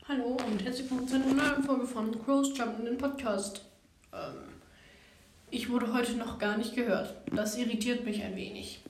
Hallo und herzlich willkommen zu einer neuen Folge von Crows Jump in den Podcast. Ich wurde heute noch gar nicht gehört. Das irritiert mich ein wenig.